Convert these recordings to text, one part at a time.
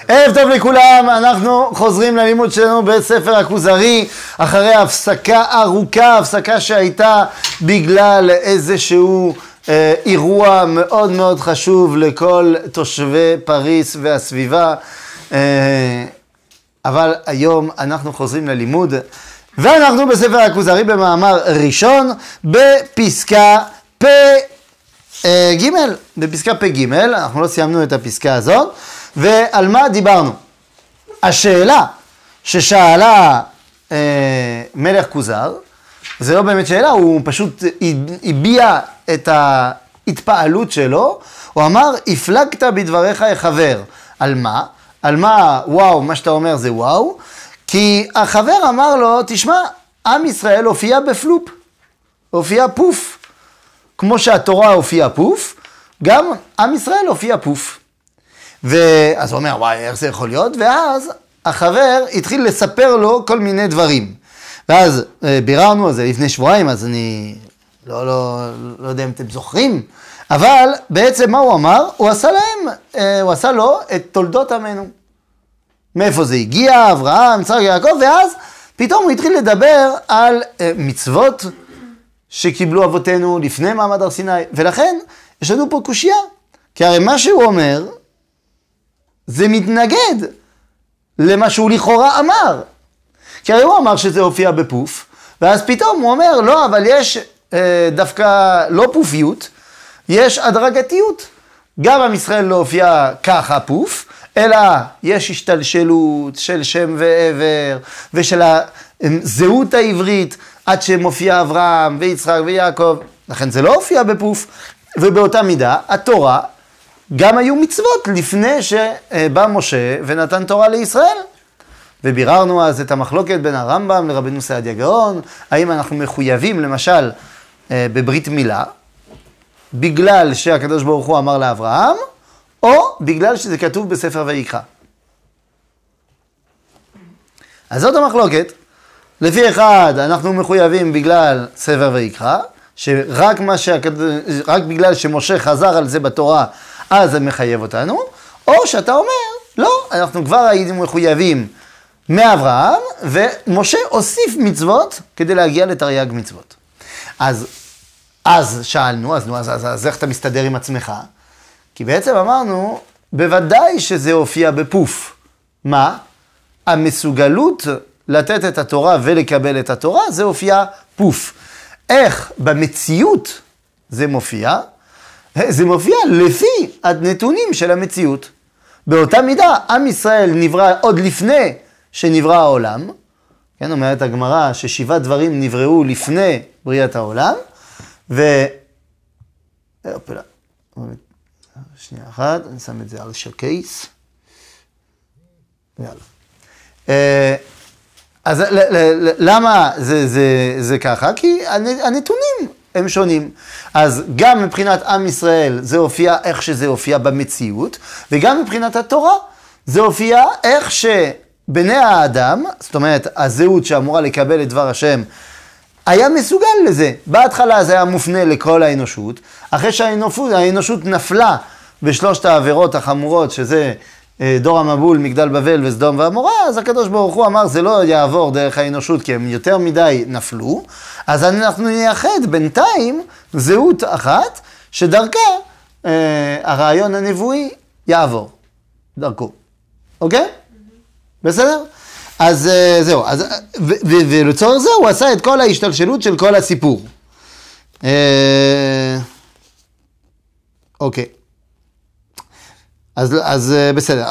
ערב טוב לכולם, אנחנו חוזרים ללימוד שלנו בספר הכוזרי אחרי הפסקה ארוכה, הפסקה שהייתה בגלל איזשהו אירוע מאוד מאוד חשוב לכל תושבי פריס והסביבה, אבל היום אנחנו חוזרים ללימוד ואנחנו בספר הכוזרי במאמר ראשון בפסקה ג', בפסקה פ', אנחנו לא סיימנו את הפסקה הזאת. ועל מה דיברנו? השאלה ששאלה מלך כוזר, זה לא באמת שאלה, הוא פשוט הביע את ההתפעלות שלו, הוא אמר, הפלגת בדבריך החבר. על מה? על מה, וואו, מה שאתה אומר זה וואו, כי החבר אמר לו, תשמע, עם ישראל הופיע בפלופ, הופיע פוף, כמו שהתורה הופיעה פוף, גם עם ישראל הופיע פוף. ואז הוא אומר, וואי, איך זה יכול להיות? ואז החבר התחיל לספר לו כל מיני דברים. ואז ביררנו על זה לפני שבועיים, אז אני לא יודע אם אתם זוכרים, אבל בעצם מה הוא אמר? הוא עשה לו את תולדות עמנו. מאיפה זה הגיע? אברהם, יצחק, יעקב, ואז פתאום הוא התחיל לדבר על מצוות שקיבלו אבותינו לפני מעמד הר סיני, ולכן יש לנו פה קושיה, כי הרי מה שהוא אומר, זה מתנגד למה שהוא לכאורה אמר. כי הרי הוא אמר שזה הופיע בפוף, ואז פתאום הוא אומר, לא, אבל יש דווקא לא פופיות, יש הדרגתיות. גם עם ישראל לא הופיע ככה פוף, אלא יש השתלשלות של שם ועבר, ושל הזהות העברית, עד שמופיע אברהם ויצחק ויעקב. לכן זה לא הופיע בפוף, ובאותה מידה, התורה, גם היו מצוות לפני שבא משה ונתן תורה לישראל. וביררנו אז את המחלוקת בין הרמב"ם לרבנו סעדיה גאון, האם אנחנו מחויבים למשל בברית מילה, בגלל שהקדוש ברוך הוא אמר לאברהם, או בגלל שזה כתוב בספר ויקרא. אז זאת המחלוקת. לפי אחד אנחנו מחויבים בגלל ספר ויקרא, שרק רק בגלל שמשה חזר על זה בתורה, אז זה מחייב אותנו, או שאתה אומר, לא, אנחנו כבר היינו מחויבים מאברהם, ומשה הוסיף מצוות כדי להגיע לתרי"ג מצוות. אז שאלנו, אז איך אתה מסתדר עם עצמך? כי בעצם אמרנו, בוודאי שזה הופיע בפוף. מה? המסוגלות לתת את התורה ולקבל את התורה, זה הופיע פוף. איך במציאות זה מופיע? זה מופיע לפי הנתונים של המציאות. באותה מידה, עם ישראל נברא עוד לפני שנברא העולם. כן, אומרת הגמרא ש7 דברים נבראו לפני בריאת העולם. שנייה אחת, אני שם את זה על שקייס. יאללה. אז למה זה ככה? כי הנתונים הם שונים. אז גם מבחינת עם ישראל זה הופיע איך שזה הופיע במציאות, וגם מבחינת התורה זה הופיע איך שבני האדם, זאת אומרת הזהות שאמורה לקבל את דבר השם, היה מסוגל לזה. בהתחלה זה היה מופנה לכל האנושות, אחרי שהאנושות נפלה בשלושת העבירות החמורות, שזה דור המבול, מגדל בבל וסדום ועמורה, אז הקדוש ברוך הוא אמר, זה לא יעבור דרך האנושות, כי הם יותר מדי נפלו, אז אנחנו נייחד בינתיים זהות אחת, שדרכה הרעיון הנבואי יעבור, דרכו. אוקיי? בסדר? אז זהו, ולצורך זה הוא עשה את כל ההשתלשלות של כל הסיפור. אוקיי. אז בסדר.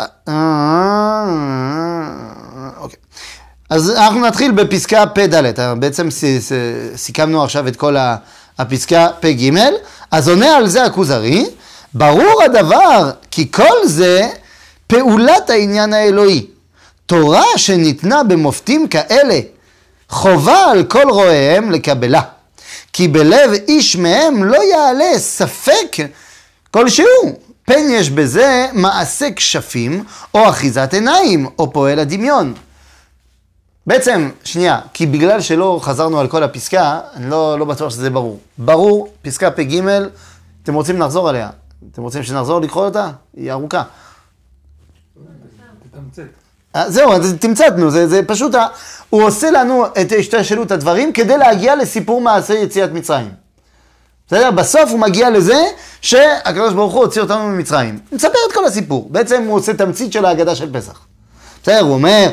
אוקיי. אז אנחנו נתחיל בפסקה פ' בעצם סיכמנו עכשיו את כל הפסקה פ' ג'. אז עונה על זה הכוזרי, ברור הדבר כי כל זה פעולת העניין האלוהי. תורה שניתנה במופתים כאלה, חובה על כל רואיהם לקבלה. כי בלב איש מהם לא יעלה ספק כלשהו. פן יש בזה מעשה כשפים, או אחיזת עיניים, או פועל הדמיון. בעצם, שנייה, כי בגלל שלא חזרנו על כל הפסקה, אני לא בטוח שזה ברור. ברור, פסקה פ' ג', אתם רוצים לחזור עליה? אתם רוצים שנחזור לקרוא אותה? היא ארוכה. תתמצת. זהו, אז תמצתנו, זה פשוט, הוא עושה לנו את השתלשלות הדברים כדי להגיע לסיפור מעשה יציאת מצרים. בסדר? בסוף הוא מגיע לזה שהקדוש ברוך הוא הוציא אותנו ממצרים. הוא מספר את כל הסיפור. בעצם הוא עושה תמצית של ההגדה של פסח. בסדר? הוא אומר,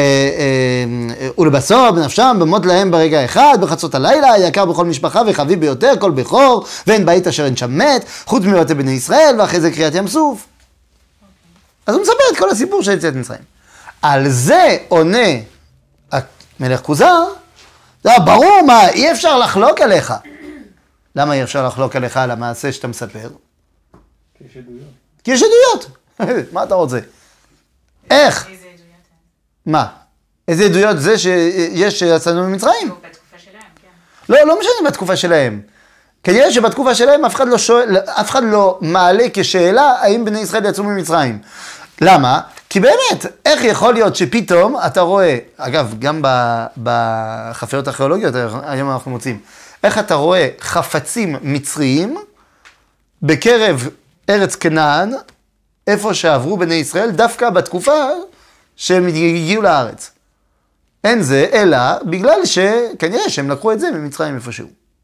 ולבסוף בנפשם במות להם ברגע אחד, בחצות הלילה, יקר בכל משפחה וחביב ביותר, כל בכור, ואין בית אשר אין שם מת, חוץ מבתי בני ישראל, ואחרי זה קריאת ים סוף. אז הוא מספר את כל הסיפור של יציאת מצרים. על זה עונה המלך כוזר, ברור מה, אי אפשר לחלוק עליך. למה אי אפשר לחלוק עליך על המעשה שאתה מספר? כי יש עדויות. כי יש עדויות. מה אתה רוצה? איך? איזה עדויות? מה? איזה עדויות זה שיש שיצאנו ממצרים? בתקופה שלהם, כן. לא משנה בתקופה שלהם. כנראה שבתקופה שלהם אף אחד לא מעלה כשאלה האם בני ישראל יצאו ממצרים. למה? כי באמת, איך יכול להיות שפתאום אתה רואה, אגב, גם בחפיות הארכיאולוגיות, היום אנחנו מוצאים, איך אתה רואה חפצים מצריים בקרב ארץ כנען, איפה שעברו בני ישראל, דווקא בתקופה שהם הגיעו לארץ. אין זה, אלא בגלל שכנראה שהם לקחו את זה ממצרים איפשהו.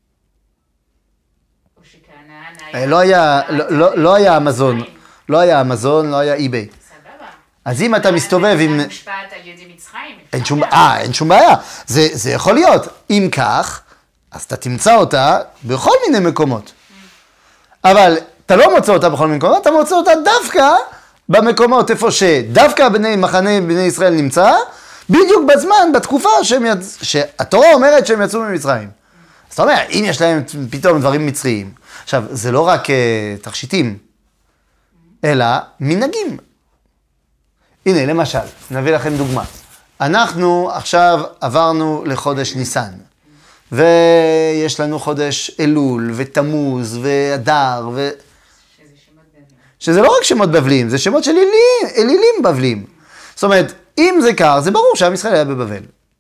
או שכנען לא היה אמזון, לא היה אמזון, לא היה אי-ביי. סבבה. אז אם אתה מסתובב עם... מושפעת על ידי מצרים. אין שום בעיה. זה יכול להיות. אם כך, אז אתה תמצא אותה בכל מיני מקומות. אבל אתה לא מוצא אותה בכל מיני מקומות, אתה מוצא אותה דווקא במקומות איפה שדווקא מחנה בני ישראל נמצא, בדיוק בזמן, בתקופה שהתורה אומרת שהם יצאו ממצרים. אז אתה אומר, אם יש להם פתאום דברים מצריים. עכשיו, זה לא רק תכשיטים, אלא מנהגים. הנה, למשל, נביא לכם דוגמה. אנחנו עכשיו עברנו לחודש ניסן, ויש לנו חודש אלול, ותמוז, ואדר, שזה שמות בבלים. שזה לא רק שמות בבלים, זה שמות של אלילים בבלים. זאת אומרת, אם זה קר, זה ברור שעם ישראל היה בבבל.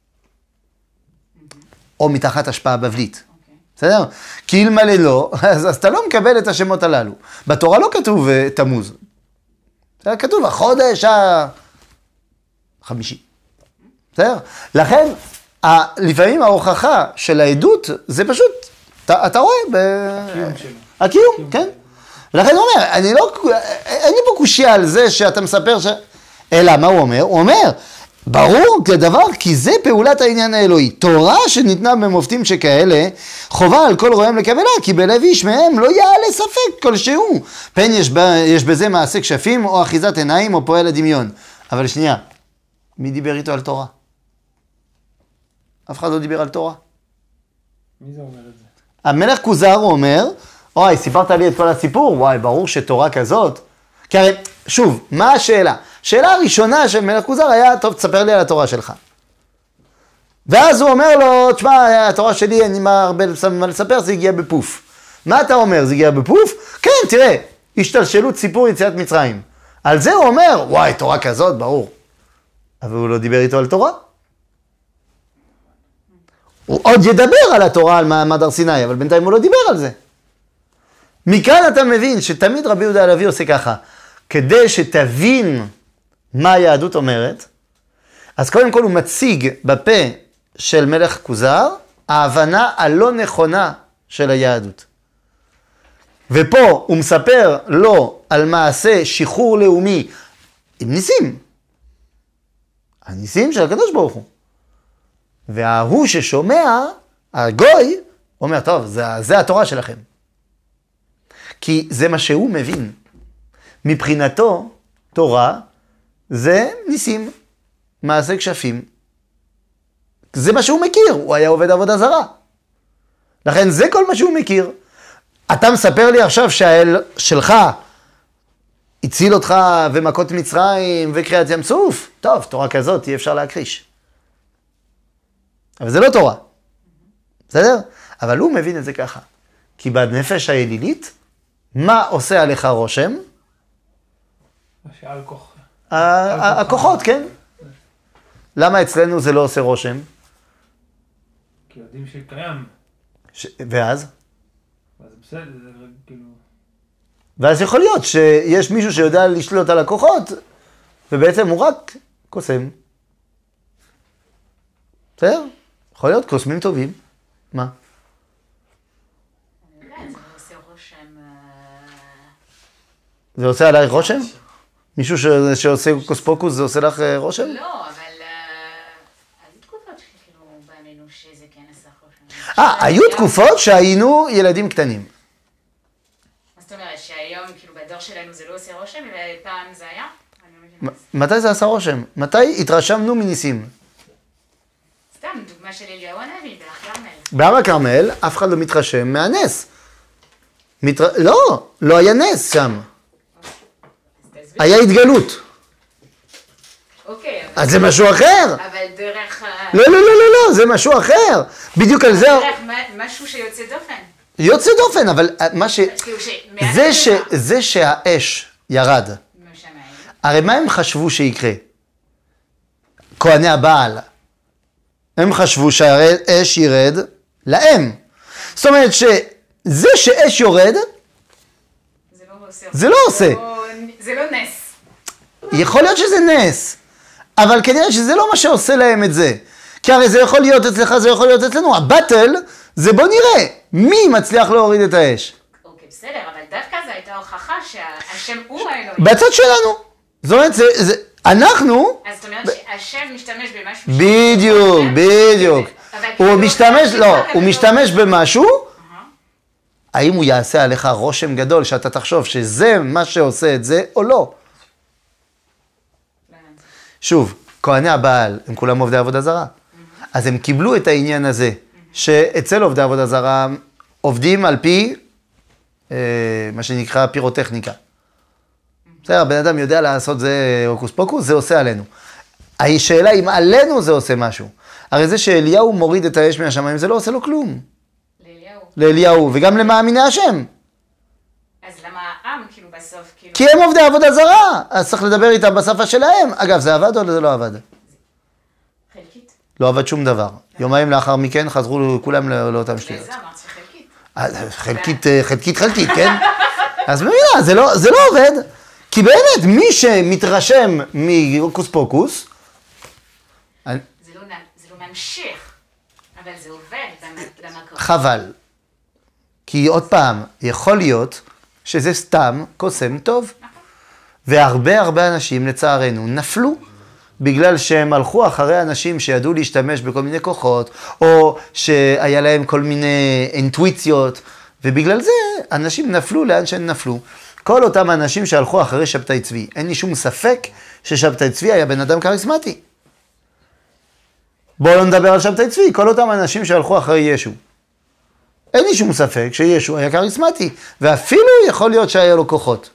או מתחת השפעה בבלית. בסדר? כי אלמלא לא, אז אתה לא מקבל את השמות הללו. בתורה לא כתוב תמוז. כתוב החודש החמישי. בסדר? לכן, לפעמים ההוכחה של העדות, זה פשוט, אתה רואה הקיום שלו. הקיום, כן. ולכן הוא אומר, אין לי פה קושיה על זה שאתה מספר אלא, מה הוא אומר? הוא אומר, ברור כדבר, כי זה פעולת העניין האלוהי. תורה שניתנה במופתים שכאלה, חובה על כל רואיהם לקבלה, כי בלב איש מהם לא יעלה ספק כלשהו. פן יש בזה מעשה כשפים, או אחיזת עיניים, או פועל הדמיון. אבל שנייה, מי דיבר איתו על תורה? אף אחד לא דיבר על תורה. מי זה אומר את זה? המלך כוזר הוא אומר, אוי, סיפרת לי את כל הסיפור, וואי, ברור שתורה כזאת. כי הרי, שוב, מה השאלה? השאלה הראשונה של מלך כוזר היה, טוב, תספר לי על התורה שלך. ואז הוא אומר לו, תשמע, התורה שלי, אין לי הרבה מה לספר, זה הגיע בפוף. מה אתה אומר, זה הגיע בפוף? כן, תראה, השתלשלות סיפור יציאת מצרים. על זה הוא אומר, וואי, תורה כזאת, ברור. אבל הוא לא דיבר איתו על תורה. הוא עוד ידבר על התורה, על מעמד הר סיני, אבל בינתיים הוא לא דיבר על זה. מכאן אתה מבין שתמיד רבי יהודה הלוי עושה ככה, כדי שתבין מה היהדות אומרת, אז קודם כל הוא מציג בפה של מלך כוזר, ההבנה הלא נכונה של היהדות. ופה הוא מספר לו על מעשה שחרור לאומי עם ניסים. הניסים של הקדוש ברוך הוא. וההוא ששומע, הגוי, אומר, טוב, זה התורה שלכם. כי זה מה שהוא מבין. מבחינתו, תורה זה ניסים, מעשה כשפים. זה מה שהוא מכיר, הוא היה עובד עבודה זרה. לכן זה כל מה שהוא מכיר. אתה מספר לי עכשיו שהאל שלך הציל אותך ומכות מצרים וקריאת ים סוף? טוב, תורה כזאת אי אפשר להכחיש. אבל זה לא תורה. בסדר? אבל הוא מבין את זה ככה. כי בנפש האלילית, מה עושה עליך רושם? שעל כוח. הכוחות, כן? למה אצלנו זה לא עושה רושם? כי יודעים שקיים. ואז? אז בסדר, זה כאילו... ואז יכול להיות שיש מישהו שיודע לשלוט על הכוחות, ובעצם הוא רק קוסם. בסדר? יכול להיות קוסמים טובים. מה? אני יודעת, זה עושה רושם... זה עושה עלייך רושם? מישהו שעושה קוספוקוס זה עושה לך רושם? לא, אבל... היו תקופות שכאילו באמינו שזה כן עשה רושם. היו תקופות שהיינו ילדים קטנים. מה זאת אומרת, שהיום כאילו בדור שלנו זה לא עושה רושם, ופעם זה היה? אני לא מבינה. מתי זה עשה רושם? מתי התרשמנו מניסים? סתם, דוגמה של אליהו הנביא, בהר כרמל. בהר הכרמל אף אחד לא מתרשם מהנס. לא היה נס שם. היה התגלות. אוקיי, אבל... אז זה משהו אחר. אבל דרך... לא, זה משהו אחר. בדיוק על זה... דרך משהו שיוצא דופן. יוצא דופן, אבל מה ש... כאילו זה שהאש ירד. משמיים. הרי מה הם חשבו שיקרה? כהני הבעל. הם חשבו שהאש ירד להם. זאת אומרת שזה שאש יורד, זה לא עושה. זה לא עושה. זה לא נס. יכול להיות שזה נס, אבל כנראה שזה לא מה שעושה להם את זה. כי הרי זה יכול להיות אצלך, זה יכול להיות אצלנו. הבטל זה בוא נראה מי מצליח להוריד את האש. אוקיי, בסדר, אבל דווקא זו הייתה הוכחה שהשם הוא האלוהים. בצד שלנו. זאת אומרת, אנחנו... אז זאת אומרת שהשם משתמש במשהו... בדיוק. הוא משתמש במשהו, האם הוא יעשה עליך רושם גדול שאתה תחשוב שזה מה שעושה את זה או לא? שוב, כהני הבעל הם כולם עובדי עבודה זרה. אז הם קיבלו את העניין הזה, שאצל עובדי עבודה זרה עובדים על פי מה שנקרא פירוטכניקה. בסדר, הבן אדם יודע לעשות זה הוקוס פוקוס, זה עושה עלינו. השאלה אם עלינו זה עושה משהו. הרי זה שאליהו מוריד את האש מהשמיים, זה לא עושה לו כלום. לאליהו, וגם למאמיני השם. אז למה העם כאילו בסוף כאילו... כי הם עובדי עבודה זרה, אז צריך לדבר איתם בשפה שלהם. אגב, זה עבד או זה לא עבד? חלקית. לא עבד שום דבר. יומיים לאחר מכן חזרו כולם לאותם שטויות. זה אמרת חלקית. חלקית, כן? אז במילה, זה לא עובד. כי באמת, מי שמתרשם מהוקוס פוקוס... זה לא ממשיך, אבל זה עובד במקום. חבל. כי עוד פעם, יכול להיות שזה סתם קוסם טוב. והרבה אנשים, לצערנו, נפלו. בגלל שהם הלכו אחרי אנשים שידעו להשתמש בכל מיני כוחות, או שהיה להם כל מיני אינטואיציות, ובגלל זה אנשים נפלו לאן שהם נפלו. כל אותם אנשים שהלכו אחרי שבתאי צבי, אין לי שום ספק ששבתאי צבי היה בן אדם כריסמטי. בואו לא נדבר על שבתאי צבי, כל אותם אנשים שהלכו אחרי ישו. אין לי שום ספק שישו היה כריסמטי, ואפילו יכול להיות שהיה לו כוחות.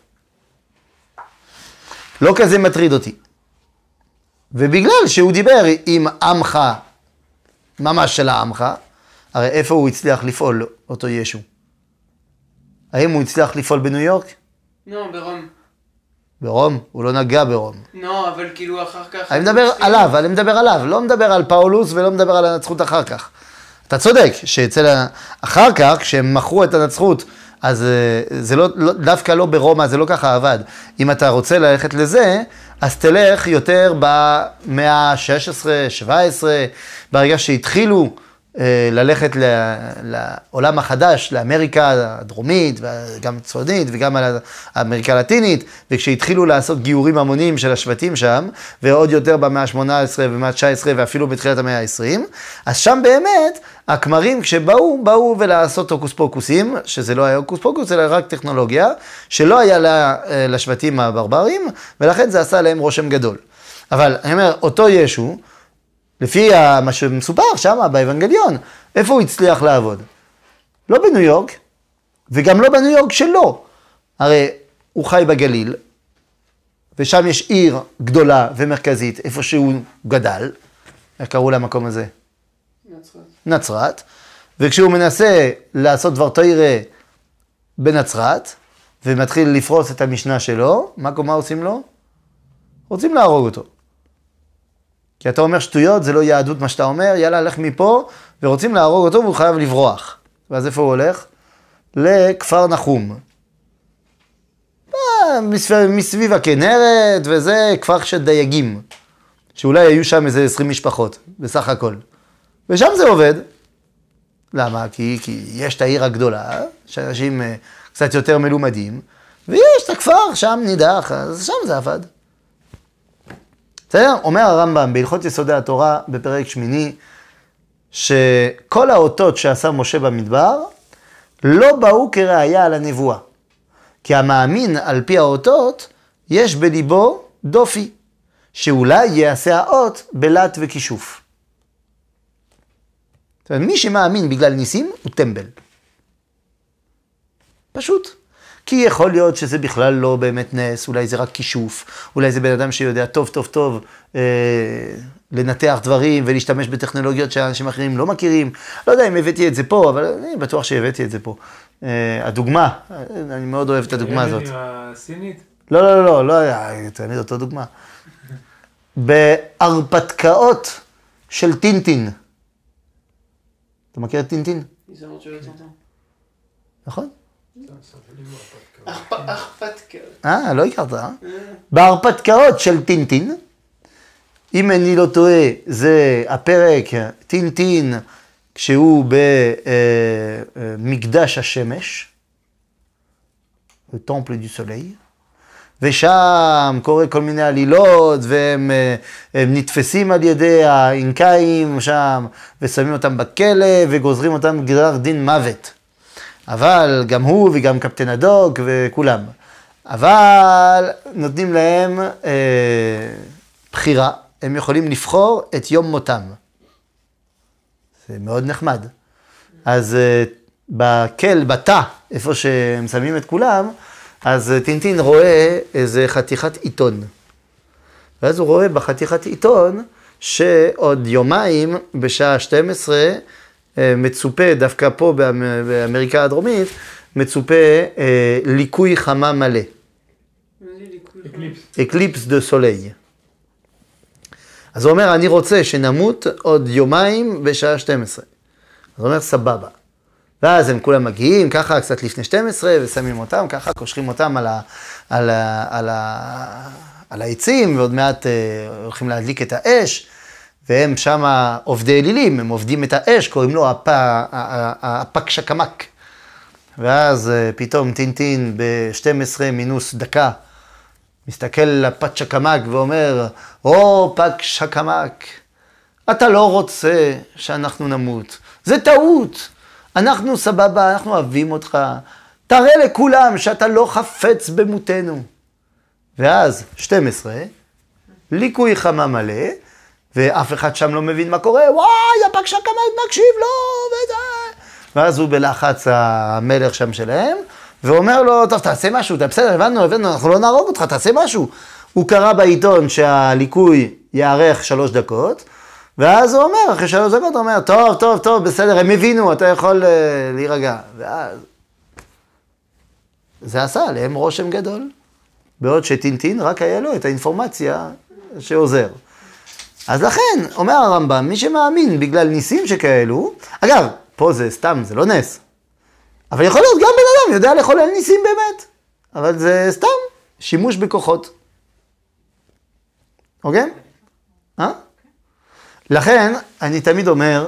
לא כזה מטריד אותי. ובגלל שהוא דיבר עם עמך, ממש של העמך, הרי איפה הוא הצליח לפעול אותו ישו? האם הוא הצליח לפעול בניו יורק? לא, ברום. ברום? הוא לא נגע ברום. לא, אבל כאילו אחר כך... אני מדבר עליו, לא מדבר על פאולוס ולא מדבר על הנצחות אחר כך. אתה צודק, אחר כך, כשהם מכרו את הנצחות, אז זה לא, דווקא לא ברומא, זה לא ככה עבד. אם אתה רוצה ללכת לזה, אז תלך יותר במאה ה-16, 17, ברגע שהתחילו ללכת לעולם החדש, לאמריקה הדרומית, וגם הצפונית, וגם האמריקה הלטינית, וכשהתחילו לעשות גיורים המוניים של השבטים שם, ועוד יותר במאה ה-18 ובמאה ה-19, ואפילו בתחילת המאה ה-20, אז שם באמת, הכמרים כשבאו ולעשות הוקוס פוקוסים, שזה לא היה הוקוס פוקוס, אלא רק טכנולוגיה, שלא היה לשבטים הברברים, ולכן זה עשה להם רושם גדול. אבל אני אומר, אותו ישו, לפי מה שמסופר שם באבנגליון, איפה הוא הצליח לעבוד? לא בניו יורק, וגם לא בניו יורק שלו. הרי הוא חי בגליל, ושם יש עיר גדולה ומרכזית, איפה שהוא גדל. איך קראו למקום הזה? נצרת. וכשהוא מנסה לעשות דבר תורה בנצרת, ומתחיל לפרוס את המשנה שלו, מה עושים לו? רוצים להרוג אותו. כי אתה אומר שטויות, זה לא יהדות מה שאתה אומר, יאללה, הלך מפה, ורוצים להרוג אותו והוא חייב לברוח. ואז איפה הוא הולך? לכפר נחום. מסביב הכנרת, וזה כפר של דייגים, שאולי היו שם איזה 20 משפחות, בסך הכל. ושם זה עובד. למה? כי יש את העיר הגדולה, שאנשים קצת יותר מלומדים, ויש את הכפר שם נידח, אז שם זה עבד. בסדר? אומר הרמב"ם בהלכות יסודי התורה בפרק שמיני, שכל האותות שעשה משה במדבר, לא באו כראיה על הנבואה. כי המאמין על פי האותות, יש בליבו דופי, שאולי יעשה האות בלט וכישוף. זאת אומרת, מי שמאמין בגלל ניסים הוא טמבל. פשוט. כי יכול להיות שזה בכלל לא באמת נס, אולי זה רק כישוף, אולי זה בן אדם שיודע טוב לנתח דברים ולהשתמש בטכנולוגיות שאנשים אחרים לא מכירים. לא יודע אם הבאתי את זה פה, אבל אני בטוח שהבאתי את זה פה. הדוגמה, אני מאוד אוהב את הדוגמה הזאת. הסינית? לא, תעמיד אותו דוגמה. בהרפתקאות של טינטין. אתה מכיר את טינטין? נכון? הרפתקאות. לא הכרת, בהרפתקאות של טינטין, אם אני לא טועה, זה הפרק טינטין, כשהוא במקדש השמש, טמפל דו סוליי, ושם קורה כל מיני עלילות, והם נתפסים על ידי האינקאים שם, ושמים אותם בכלא, וגוזרים אותם גזר דין מוות. אבל גם הוא וגם קפטן הדוק וכולם. אבל נותנים להם בחירה, הם יכולים לבחור את יום מותם. זה מאוד נחמד. אז בתא, איפה שהם שמים את כולם, אז טינטין רואה איזה חתיכת עיתון. ואז הוא רואה בחתיכת עיתון שעוד יומיים בשעה 12 מצופה, דווקא פה באמריקה הדרומית, מצופה ליקוי חמה מלא. אקליפס דה סוליי. אז הוא אומר, אני רוצה שנמות עוד יומיים בשעה 12. אז הוא אומר, סבבה. ואז הם כולם מגיעים, ככה קצת לפני 12, ושמים אותם, ככה קושרים אותם על העצים, ועוד מעט הולכים להדליק את האש, והם שם עובדי אלילים, הם עובדים את האש, קוראים לו הפק שקמק. ואז פתאום טינטין ב-12 מינוס דקה, מסתכל לפק שקמק ואומר, פק שקמק, אתה לא רוצה שאנחנו נמות, זה טעות. אנחנו סבבה, אנחנו אוהבים אותך, תראה לכולם שאתה לא חפץ במותנו. ואז 12, ליקוי חמה מלא, ואף אחד שם לא מבין מה קורה, וואי, הפק שקמק מקשיב לו, וזה. ואז הוא בלחץ המלך שם שלהם, ואומר לו, טוב, תעשה משהו, בסדר, הבנו, אנחנו לא נהרוג אותך, תעשה משהו. הוא קרא בעיתון שהליקוי יארך 3 דקות, ואז הוא אומר, אחרי 3 דקות, הוא אומר, טוב, בסדר, הם הבינו, אתה יכול להירגע. ואז זה עשה עליהם רושם גדול, בעוד שטינטין רק היה לו את האינפורמציה שעוזר. אז לכן, אומר הרמב"ם, מי שמאמין בגלל ניסים שכאלו, אגב, פה זה סתם, זה לא נס, אבל יכול להיות גם בן אדם יודע לחולל ניסים באמת, אבל זה סתם שימוש בכוחות. אוקיי? לכן, אני תמיד אומר,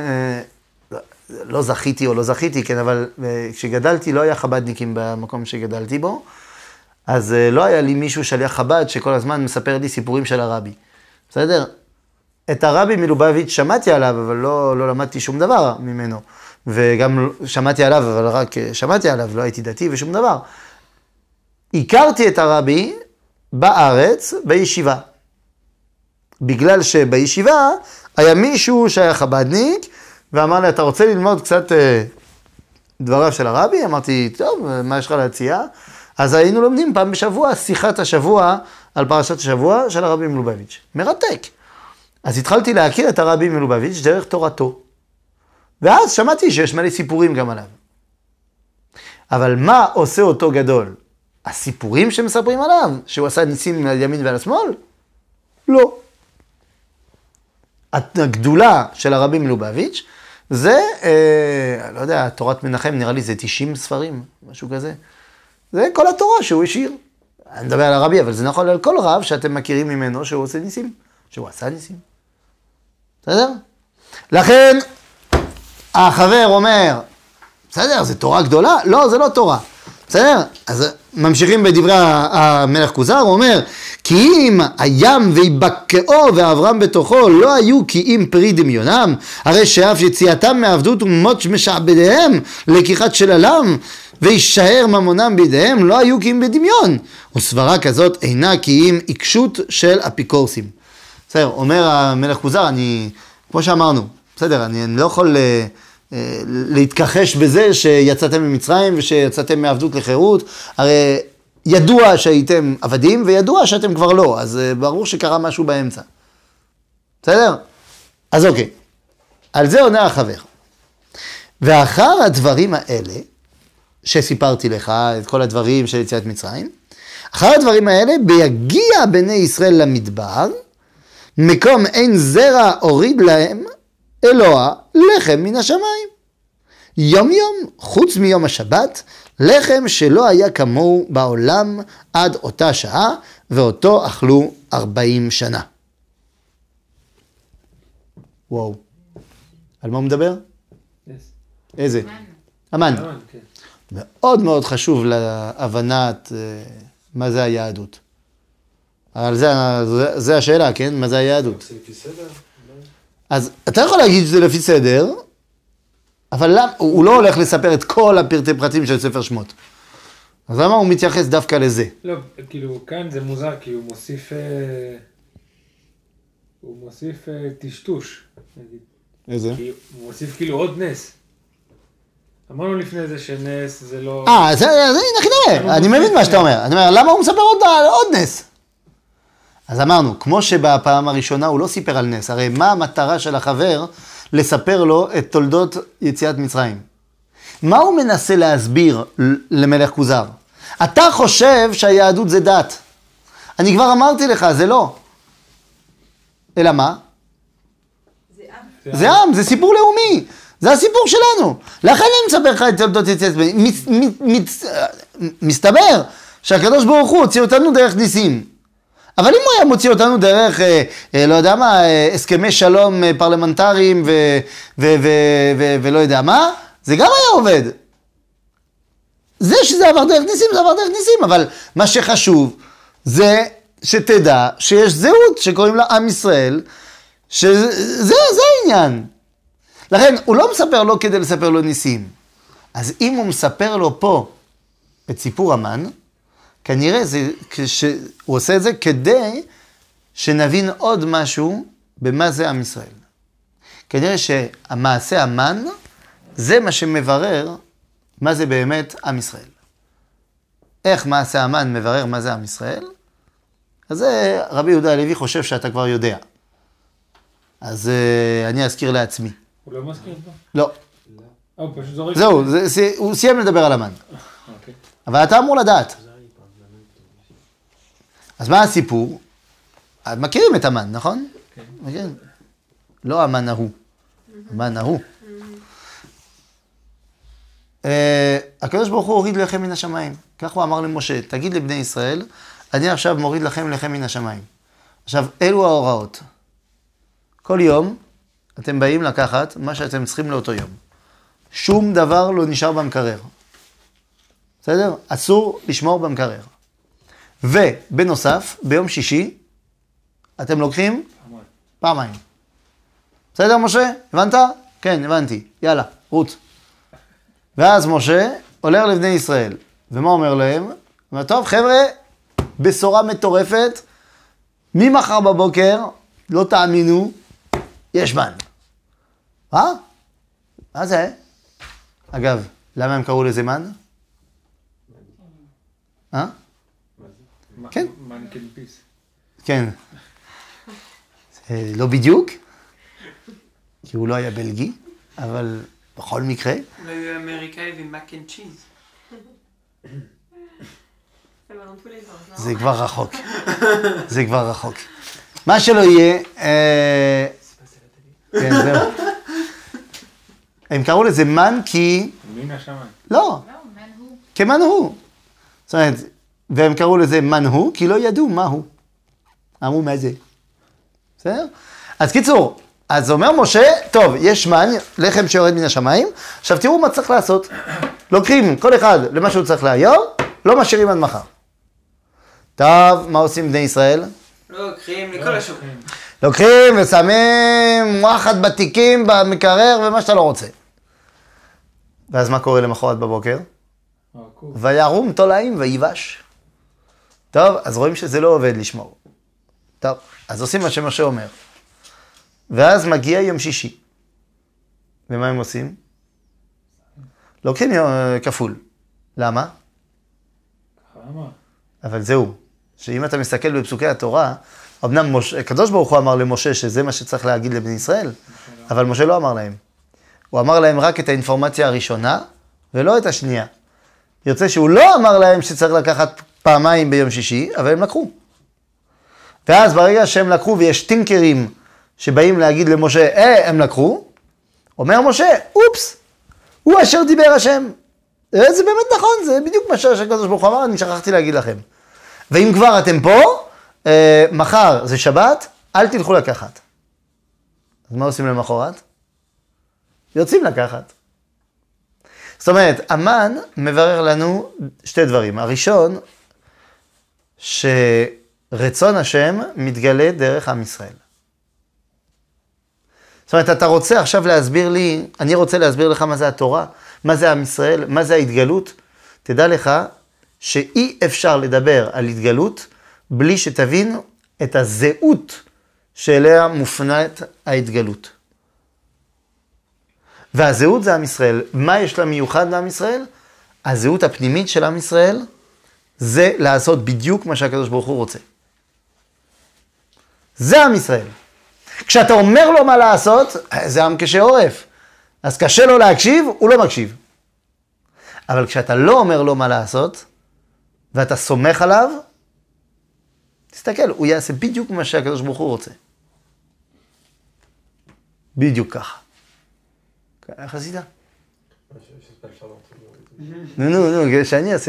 לא זכיתי, כן, אבל כשגדלתי לא היה חבדניקים במקום שגדלתי בו, אז לא היה לי מישהו שליח חב"ד שכל הזמן מספר לי סיפורים של הרבי. בסדר? את הרבי מלובביץ' שמעתי עליו, אבל לא למדתי שום דבר ממנו. וגם שמעתי עליו, אבל רק שמעתי עליו, לא הייתי דתי ושום דבר. הכרתי את הרבי בארץ, בישיבה. בגלל שבישיבה היה מישהו שהיה חבדניק, ואמר לי, אתה רוצה ללמוד קצת דבריו של הרבי? אמרתי, טוב, מה יש לך להציע? אז היינו לומדים פעם בשבוע, שיחת השבוע על פרשת השבוע של הרבי מלובביץ'. מרתק. אז התחלתי להכיר את הרבי מלובביץ' דרך תורתו. ואז שמעתי שיש מלא סיפורים גם עליו. אבל מה עושה אותו גדול? הסיפורים שמספרים עליו? שהוא עשה ניסים על ימין ועל השמאל? לא. הגדולה של הרבי מלובביץ' זה, תורת מנחם, נראה לי זה 90 ספרים, משהו כזה. זה כל התורה שהוא השאיר. אני מדבר על הרבי, אבל זה נכון על כל רב שאתם מכירים ממנו שהוא עושה ניסים, שהוא עשה ניסים. בסדר? לכן, החבר אומר, בסדר, זה תורה גדולה? לא, זה לא תורה. בסדר? אז ממשיכים בדברי המלך כוזר, הוא אומר, כי אם הים ויבקעו ואברהם בתוכו לא היו כי אם פרי דמיונם, הרי שאף יציאתם מעבדות ומות משעבדיהם לקיחת שללם, וישאר ממונם בידיהם, לא היו כי אם בדמיון. וסברה כזאת אינה כי אם עיקשות של אפיקורסים. בסדר, אומר המלך כוזר, כמו שאמרנו, בסדר, אני לא יכול להתכחש בזה שיצאתם ממצרים ושיצאתם מעבדות לחירות, הרי ידוע שהייתם עבדים וידוע שאתם כבר לא, אז ברור שקרה משהו באמצע. בסדר? אז אוקיי, על זה עונה החבר. ואחר הדברים האלה, שסיפרתי לך, את כל הדברים של יציאת מצרים, אחר הדברים האלה, ביגיע בני ישראל למדבר, מקום אין זרע הוריד להם, אלוה לחם מן השמיים. יום יום, חוץ מיום השבת, לחם שלא היה כמוהו בעולם עד אותה שעה, ואותו אכלו 40 שנה. וואו. על מה הוא מדבר? איזה? המן. מאוד מאוד חשוב להבנת מה זה היהדות. אבל זה השאלה, כן? מה זה היהדות? זה לפי סדר? אז אתה יכול להגיד שזה לפי סדר, אבל הוא לא הולך לספר את כל הפרטי פרטים של ספר שמות. אז למה הוא מתייחס דווקא לזה? לא, כאילו, כאן זה מוזר, כי הוא מוסיף טשטוש, נגיד. איזה? כי הוא מוסיף כאילו עוד נס. אמרנו לפני זה שנס זה לא... אז הנה, נראה, אני מבין מה שאתה אומר. אני אומר, למה הוא מספר עוד נס? אז אמרנו, כמו שבפעם הראשונה הוא לא סיפר על נס, הרי מה המטרה של החבר לספר לו את תולדות יציאת מצרים? מה הוא מנסה להסביר למלך כוזר? אתה חושב שהיהדות זה דת. אני כבר אמרתי לך, זה לא. אלא מה? זה עם, זה סיפור לאומי. זה הסיפור שלנו. לכן אני מספר לך את תולדות יציאת מצרים. מסתבר שהקדוש ברוך הוא הוציא אותנו דרך ניסים. אבל אם הוא היה מוציא אותנו דרך, לא יודע מה, הסכמי שלום פרלמנטריים ולא יודע מה, זה גם היה עובד. זה שזה עבר דרך ניסים, זה עבר דרך ניסים, אבל מה שחשוב זה שתדע שיש זהות שקוראים לה עם ישראל, שזה העניין. לכן הוא לא מספר לו כדי לספר לו ניסים. אז אם הוא מספר לו פה את סיפור המן, כנראה הוא עושה את זה כדי שנבין עוד משהו במה זה עם ישראל. כנראה שהמעשה המן זה מה שמברר מה זה באמת עם ישראל. איך מעשה המן מברר מה זה עם ישראל? אז זה רבי יהודה הלוי חושב שאתה כבר יודע. אז אני אזכיר לעצמי. הוא לא מזכיר פה? לא. הוא פשוט זורק. זהו, הוא סיים לדבר על המן. אוקיי. אבל אתה אמור לדעת. אז מה הסיפור? מכירים את המן, נכון? כן. לא המן ההוא. המן ההוא. הקדוש ברוך הוא הוריד לחם מן השמיים. כך הוא אמר למשה, תגיד לבני ישראל, אני עכשיו מוריד לכם לחם מן השמיים. עכשיו, אלו ההוראות. כל יום אתם באים לקחת מה שאתם צריכים לאותו יום. שום דבר לא נשאר במקרר. בסדר? אסור לשמור במקרר. ובנוסף, ביום שישי, אתם לוקחים פעמיים. בסדר, משה? הבנת? כן, הבנתי. יאללה, רות. ואז משה הולך לבני ישראל. ומה אומר להם? הוא אומר, טוב, חבר'ה, בשורה מטורפת, ממחר בבוקר, לא תאמינו, יש מן. מה זה? אגב, למה הם קראו לזה מן? כן. מנקל פיס. כן. לא בדיוק, כי הוא לא היה בלגי, אבל בכל מקרה. אולי הוא היה אמריקאי ומק אנד צ'יז. זה כבר רחוק. זה כבר רחוק. מה שלא יהיה, כן, זהו. הם קראו לזה מן כי... מן השמיים. לא. לא, מן הוא. כמן הוא. זאת אומרת, והם קראו לזה מנהו, כי לא ידעו מהו. אמרו מה זה. בסדר? אז קיצור, אז אומר משה, טוב, יש מן, לחם שיורד מן השמיים, עכשיו תראו מה צריך לעשות. לוקחים כל אחד למה שהוא צריך להיום, לא משאירים עד מחר. טוב, מה עושים בני ישראל? לא לוקחים לכל השוק. לוקחים ושמים וואחד בתיקים, במקרר ומה שאתה לא רוצה. ואז מה קורה למחרת בבוקר? וירום תולעים ויבש. טוב, אז רואים שזה לא עובד לשמור. טוב, אז עושים מה שמשה אומר. ואז מגיע יום שישי. ומה הם עושים? לוקחים כפול. למה? אבל זהו, שאם אתה מסתכל בפסוקי התורה, אמנם הקדוש ברוך הוא אמר למשה שזה מה שצריך להגיד לבני ישראל, אבל משה לא אמר להם. הוא אמר להם רק את האינפורמציה הראשונה, ולא את השנייה. יוצא שהוא לא אמר להם שצריך לקחת פעמיים ביום שישי, אבל הם לקחו. ואז ברגע שהם לקחו ויש טינקרים שבאים להגיד למשה, הם לקחו, אומר משה, אופס, הוא אשר דיבר השם. זה באמת נכון, זה בדיוק מה שהקדוש ברוך הוא אמר, אני שכחתי להגיד לכם. ואם כבר אתם פה, מחר זה שבת, אל תלכו לקחת. אז מה עושים למחרת? יוצאים לקחת. זאת אומרת, המן מברר לנו שתי דברים. הראשון, שרצון השם מתגלה דרך עם ישראל. זאת אומרת, אתה רוצה עכשיו להסביר לי, אני רוצה להסביר לך מה זה התורה, מה זה עם ישראל, מה זה ההתגלות. תדע לך שאי אפשר לדבר על התגלות בלי שתבין את הזהות שאליה מופנית ההתגלות. והזהות זה עם ישראל. מה יש לה מיוחד לעם ישראל? הזהות הפנימית של עם ישראל זה לעשות בדיוק מה שהקדוש ברוך הוא רוצה. זה עם ישראל. כשאתה אומר לו מה לעשות, זה עם קשה עורף. אז קשה לו להקשיב, הוא לא מקשיב. אבל כשאתה לא אומר לו מה לעשות, ואתה סומך עליו, תסתכל, הוא יעשה בדיוק מה שהקדוש ברוך הוא רוצה. בדיוק ככה. איך עשית? נו, שאני אעשה.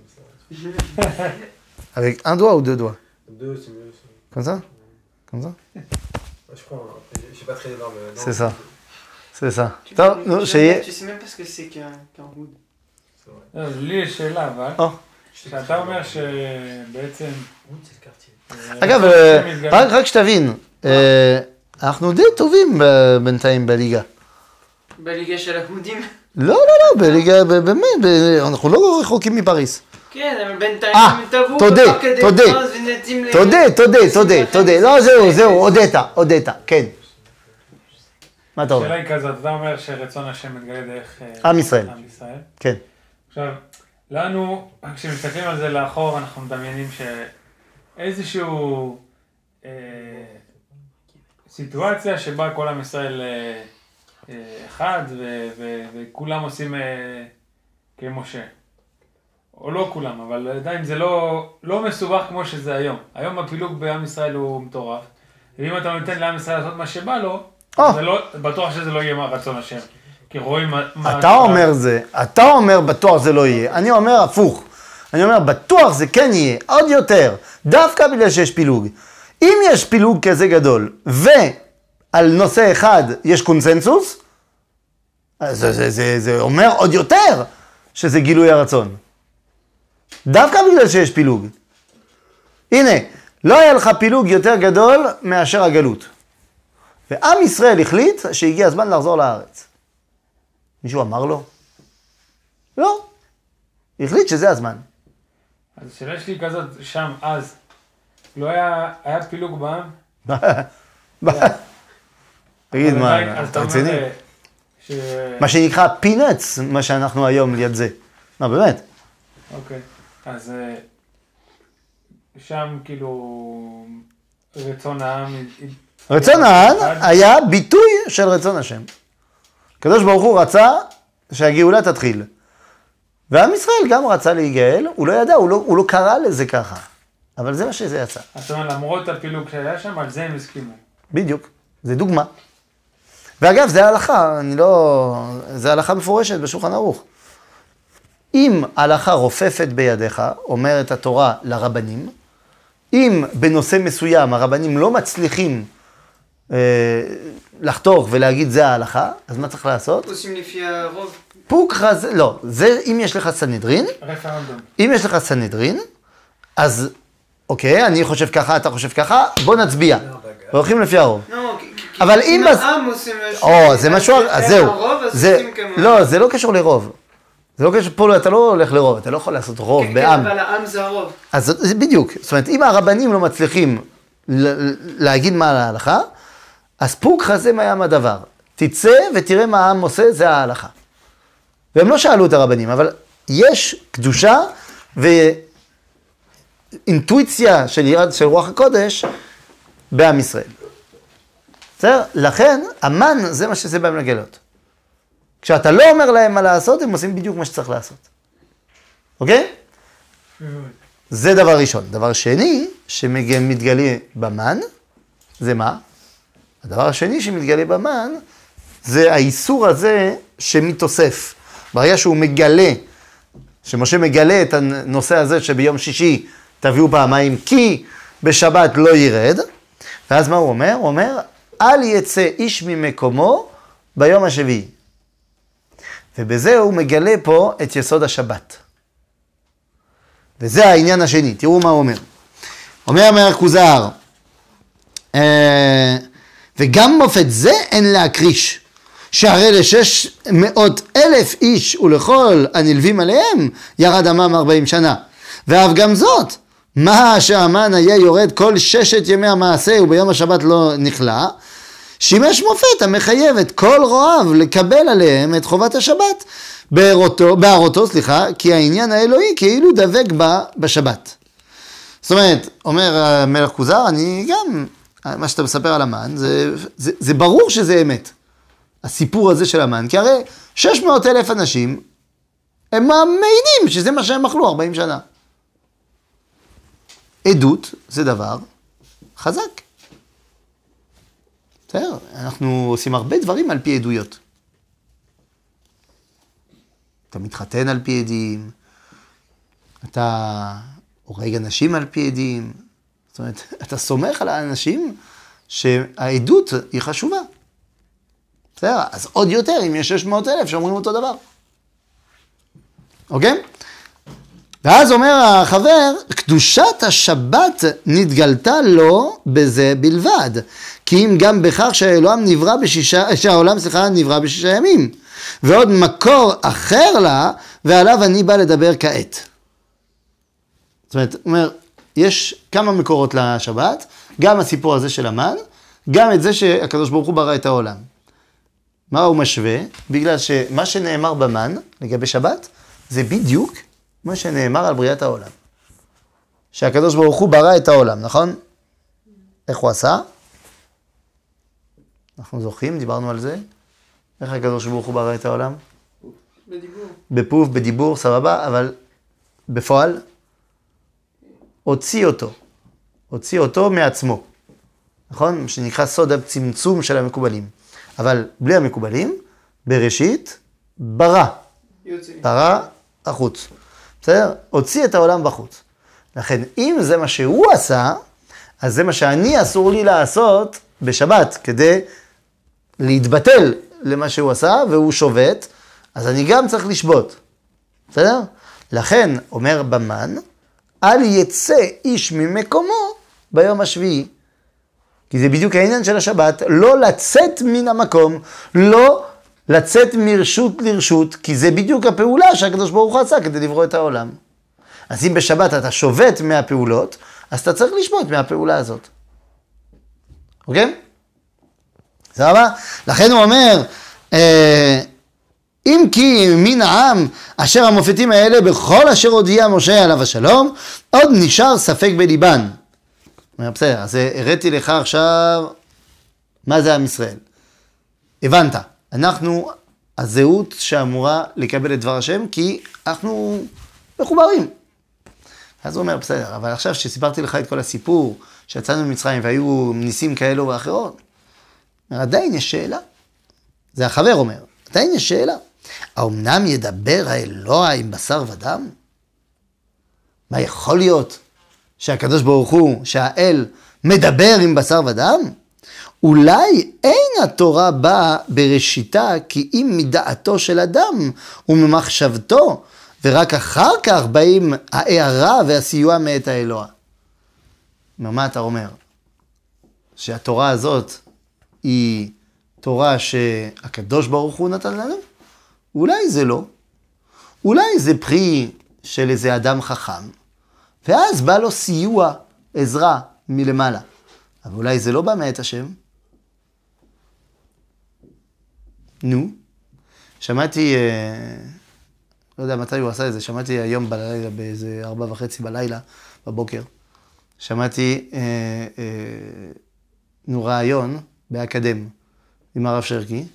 Avec un doigt ou deux doigts? Deux, c'est mieux. Comme ça? Comme ça? Je prends, je suis pas très énorme. C'est ça. C'est ça. טוב, נו, שיהיה. Tu sais même pas ce que c'est qu'un hood. לי יש שאלה, אבל, שאתה אומר שבעצם... אגב, רק שתבין, אנחנו די טובים בינתיים בליגה. בליגה של ההודים? לא, בליגה, באמת, אנחנו לא רחוקים מפריס. כן, אבל בינתיים הם טבעו תודה, תודה. לא, זהו, הודית, כן. מה אתה אומר? השאלה היא כזאת, אתה אומר שרצון השם מתגלה דרך עם ישראל. כן. עכשיו, לנו, כשמסתכלים על זה לאחור, אנחנו מדמיינים שאיזשהו סיטואציה שבה כל עם ישראל אחד וכולם עושים כמשה. או לא כולם, אבל עדיין זה לא מסובך כמו שזה היום. היום הפילוג בעם ישראל הוא מטורף. ואם אתה נותן לעם ישראל לעשות מה שבא לו, בטוח שזה לא יהיה רצון השם. כי רואים מה... אתה אומר בטוח זה לא יהיה. אני אומר הפוך. אני אומר בטוח זה כן יהיה, עוד יותר. דווקא בגלל שיש פילוג. אם יש פילוג כזה גדול, ועל נושא אחד יש קונסנזוס, זה אומר עוד יותר שזה גילוי הרצון. דווקא בגלל שיש פילוג. הנה, לא היה לך פילוג יותר גדול מאשר הגלות. ועם ישראל החליט שהגיע הזמן לחזור לארץ. מישהו אמר לו? לא. החליט שזה הזמן. אז השאלה שלי כזאת, שם, אז, לא היה פילוג בעם? תגיד מה, אתה רציני? מה שנקרא פינץ, מה שאנחנו היום ליד זה. לא, באמת. אוקיי, אז שם כאילו רצון העם... רצון העם היה ביטוי של רצון השם. הקדוש ברוך הוא רצה שהגאולה תתחיל. ועם ישראל גם רצה להיגאל, הוא לא ידע, הוא לא קרא לזה ככה. אבל זה מה שזה יצא. זאת אומרת, למרות הפילוג שהיה שם, על זה הם הסכימו. בדיוק, זה דוגמה. ואגב, זה הלכה, זה הלכה מפורשת בשולחן ערוך. אם ההלכה רופפת בידיך, אומרת התורה לרבנים, אם בנושא מסוים הרבנים לא מצליחים לחתוך ולהגיד זה ההלכה, אז מה צריך לעשות? עושים לפי הרוב. פוקרא, לא, זה אם יש לך סנהדרין, רפרנדום. אם יש לך סנהדרין, אז אוקיי, אני חושב ככה, אתה חושב ככה, בוא נצביע. והולכים לפי הרוב. לא, אבל אם העם עושים משהו... זה משהו, אז זהו. הרוב, אז זה, עושים כמו... לא, זה לא קשור לרוב. זה לא קשור, פה אתה לא הולך לרוב, אתה לא יכול לעשות רוב בעם. כן, אבל העם זה הרוב. אז זה בדיוק, זאת אומרת, אם הרבנים לא מצליחים להגיד מה על ההלכה, אז פוקרא זה מהים הדבר. תצא ותראה מה העם עושה, זה ההלכה. והם לא שאלו את הרבנים, אבל יש קדושה ואינטואיציה של רוח הקודש בעם ישראל. בסדר? לכן, המן זה מה שזה בהם לגלות. כשאתה לא אומר להם מה לעשות, הם עושים בדיוק מה שצריך לעשות. אוקיי? זה דבר ראשון. דבר שני, שמתגלה במן, זה מה? הדבר השני שמתגלה במן, זה האיסור הזה שמתוסף. ברגע שהוא מגלה, שמשה מגלה את הנושא הזה שביום שישי תביאו פעמיים, כי בשבת לא ירד, ואז מה הוא אומר? הוא אומר, אל יצא איש ממקומו ביום השביעי. ובזה הוא מגלה פה את יסוד השבת. וזה העניין השני, תראו מה הוא אומר. אומר המלך כוזר, וגם מופת זה אין להקריש, שהרי ל600,000 איש ולכל הנלווים עליהם ירד עמם 40 שנה. ואף גם זאת, מה שהמן היה יורד כל 6 ימי המעשה וביום השבת לא נכלה, שימש מופת המחייב את כל רועיו לקבל עליהם את חובת השבת בערותו, כי העניין האלוהי כאילו דבק בה בשבת. זאת אומרת, אומר המלך כוזר, אני גם, מה שאתה מספר על המן, זה ברור שזה אמת. הסיפור הזה של המן, כי הרי 600,000 אנשים, הם מעידים שזה מה שהם אכלו 40 שנה. עדות זה דבר חזק. בסדר, אנחנו עושים הרבה דברים על פי עדויות. אתה מתחתן על פי עדים, אתה הורג אנשים על פי עדים, זאת אומרת, אתה סומך על האנשים שהעדות היא חשובה. בסדר, אז עוד יותר אם יש 600,000 שאומרים אותו דבר. אוקיי? ואז אומר החבר, קדושת השבת נתגלתה לו בזה בלבד. כי אם גם בכך שהעולם נברא בשישה ימים. ועוד מקור אחר לה, ועליו אני בא לדבר כעת. זאת אומרת, הוא אומר, יש כמה מקורות לשבת, גם הסיפור הזה של המן, גם את זה שהקדוש ברוך הוא ברא את העולם. מה הוא משווה? בגלל שמה שנאמר במן לגבי שבת, זה בדיוק מה שנאמר על בריאת העולם. שהקדוש ברוך הוא ברא את העולם, נכון? איך הוא עשה? אנחנו זוכרים, דיברנו על זה. איך הקדוש ברוך הוא ברא את העולם? בדיבור. בפוף, בדיבור, סבבה, אבל בפועל, הוציא אותו מעצמו. נכון? שנקרא סוד הצמצום של המקובלים. אבל בלי המקובלים, בראשית, ברא החוץ. בסדר? הוציא את העולם בחוץ. לכן, אם זה מה שהוא עשה, אז זה מה שאני אסור לי לעשות בשבת, כדי להתבטל למה שהוא עשה, והוא שובת, אז אני גם צריך לשבות. בסדר? לכן, אומר במן, אל יצא איש ממקומו ביום השביעי. כי זה בדיוק העניין של השבת, לא לצאת מן המקום, לא לצאת מרשות לרשות, כי זה בדיוק הפעולה שהקדוש ברוך הוא עשה כדי לברוא את העולם. אז אם בשבת אתה שובת מהפעולות, אז אתה צריך לשבות מהפעולה הזאת. אוקיי? סבבה? לכן הוא אומר, אם כי מן העם אשר המופתים האלה בכל אשר הודיע משה עליו השלום, עוד נשאר ספק בליבן. בסדר, אז הראיתי לך עכשיו מה זה עם ישראל. הבנת, אנחנו הזהות שאמורה לקבל את דבר השם, כי אנחנו מחוברים. אז הוא אומר, בסדר, אבל עכשיו שסיפרתי לך את כל הסיפור, שיצאנו ממצרים והיו ניסים כאלו ואחרות, עדיין יש שאלה. זה החבר אומר, עדיין יש שאלה. האומנם ידבר האלוה עם בשר ודם? מה יכול להיות שהקדוש ברוך הוא, שהאל, מדבר עם בשר ודם? אולי אין התורה באה בראשיתה כי אם מדעתו של אדם וממחשבתו, ורק אחר כך באים ההערה והסיוע מאת האלוה. מה אתה אומר? שהתורה הזאת היא תורה שהקדוש ברוך הוא נתן לנו? אולי זה לא. אולי זה פרי של איזה אדם חכם, ואז בא לו סיוע, עזרה מלמעלה. אבל אולי זה לא בא מאת השם. נו, שמעתי, לא יודע מתי הוא עשה את זה, שמעתי היום בלילה, באיזה 4:30 בלילה, בבוקר, שמעתי רעיון באקדם עם הרב שרקי,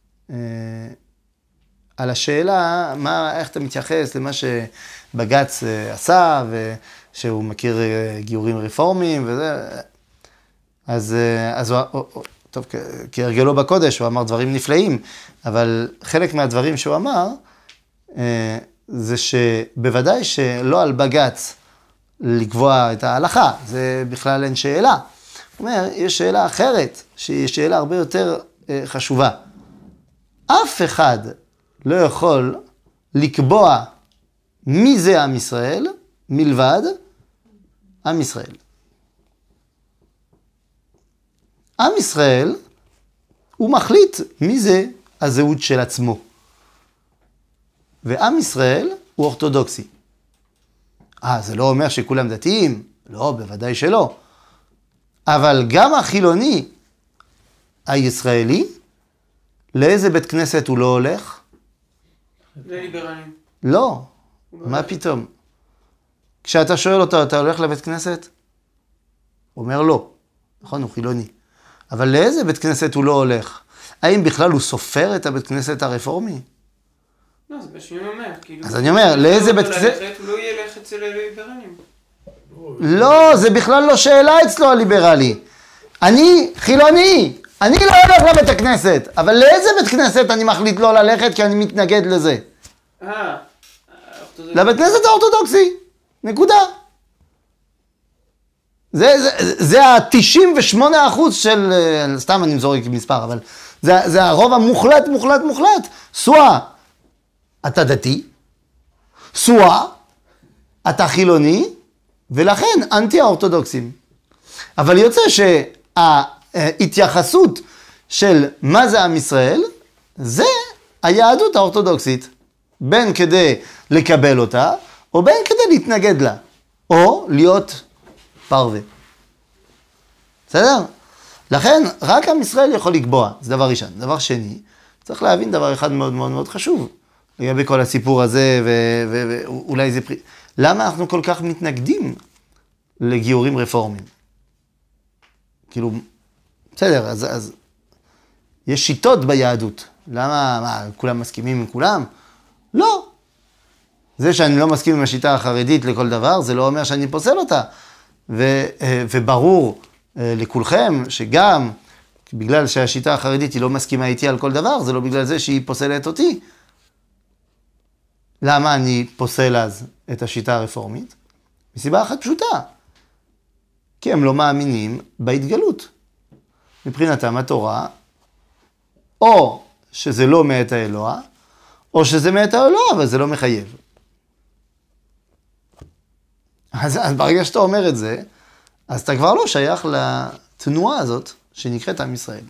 על השאלה, איך אתה מתייחס למה שבג"ץ עשה, ושהוא מכיר גיורים רפורמיים וזה. אז טוב, כהרגלו בקודש, הוא אמר דברים נפלאים, אבל חלק מהדברים שהוא אמר, זה שבוודאי שלא על בג"ץ לקבוע את ההלכה, זה בכלל אין שאלה. הוא אומר, יש שאלה אחרת, שהיא שאלה הרבה יותר חשובה. אף אחד לא יכול לקבוע מי זה עם ישראל, מלבד עם ישראל. עם ישראל, הוא מחליט מי זה הזהות של עצמו. ועם ישראל הוא אורתודוקסי. זה לא אומר שכולם דתיים? לא, בוודאי שלא. אבל גם החילוני הישראלי, לאיזה בית כנסת הוא לא הולך? לליברלים. לא, מה פתאום? כשאתה שואל אותו, אתה הולך לבית כנסת? הוא אומר לא, נכון, הוא חילוני. אבל לאיזה בית כנסת הוא לא הולך? האם בכלל הוא סופר את הבית כנסת הרפורמי? לא, זה בשביל אומר, כאילו... אז אני אומר, לאיזה בית כנסת... הוא לא ילך אצל הליברלים. לא, זה בכלל לא שאלה אצלו הליברלי. אני חילוני, אני לא הולך לבית הכנסת, אבל לאיזה בית כנסת אני מחליט לא ללכת כי אני מתנגד לזה? לבית כנסת האורתודוקסי, נקודה. זה ה-98% של, סתם אני מזורק מספר, אבל זה הרוב המוחלט, מוחלט. סואה, אתה דתי, סואה, אתה חילוני, ולכן אנטי האורתודוקסים. אבל יוצא שההתייחסות של מה זה עם ישראל, זה היהדות האורתודוקסית. בין כדי לקבל אותה, או בין כדי להתנגד לה, או להיות פרווה. בסדר? לכן, רק עם ישראל יכול לקבוע, זה דבר ראשון. דבר שני, צריך להבין דבר אחד מאוד מאוד מאוד חשוב, לגבי כל הסיפור הזה, ואולי זה פרי... למה אנחנו כל כך מתנגדים לגיורים רפורמיים? כאילו, בסדר, אז יש שיטות ביהדות. למה, כולם מסכימים עם כולם? לא. זה שאני לא מסכים עם השיטה החרדית לכל דבר, זה לא אומר שאני פוסל אותה. וברור לכולכם שגם בגלל שהשיטה החרדית היא לא מסכימה איתי על כל דבר, זה לא בגלל זה שהיא פוסלת אותי. למה אני פוסל אז את השיטה הרפורמית? מסיבה אחת פשוטה. כי הם לא מאמינים בהתגלות. מבחינתם התורה, או שזה לא מאת האלוה, או שזה מאת האלוה, אבל זה לא מחייב. אז ברגע שאתה אומר את זה, אז אתה כבר לא שייך לתנועה הזאת שנקראת עם ישראל.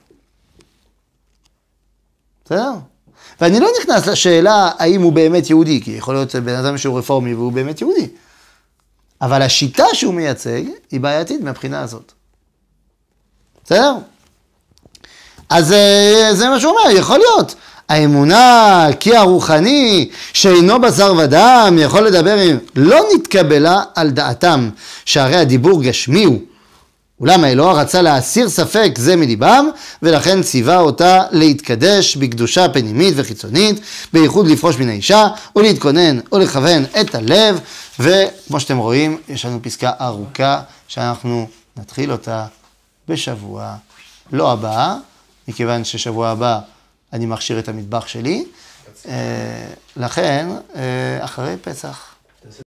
בסדר? ואני לא נכנס לשאלה האם הוא באמת יהודי, כי יכול להיות בן אדם שהוא רפורמי והוא באמת יהודי. אבל השיטה שהוא מייצג היא בעייתית מהבחינה הזאת. בסדר? אז זה מה שהוא אומר, יכול להיות. האמונה כי הרוחני שאינו בשר ודם יכול לדבר עם... לא נתקבלה על דעתם שהרי הדיבור גשמי הוא. אולם האלוה רצה להסיר ספק זה מליבם, ולכן ציווה אותה להתקדש בקדושה פנימית וחיצונית, בייחוד לפרוש מן האישה, ולהתכונן ולכוון את הלב, וכמו שאתם רואים, יש לנו פסקה ארוכה, שאנחנו נתחיל אותה בשבוע לא הבא, מכיוון ששבוע הבא אני מכשיר את המטבח שלי, לכן, אחרי פסח,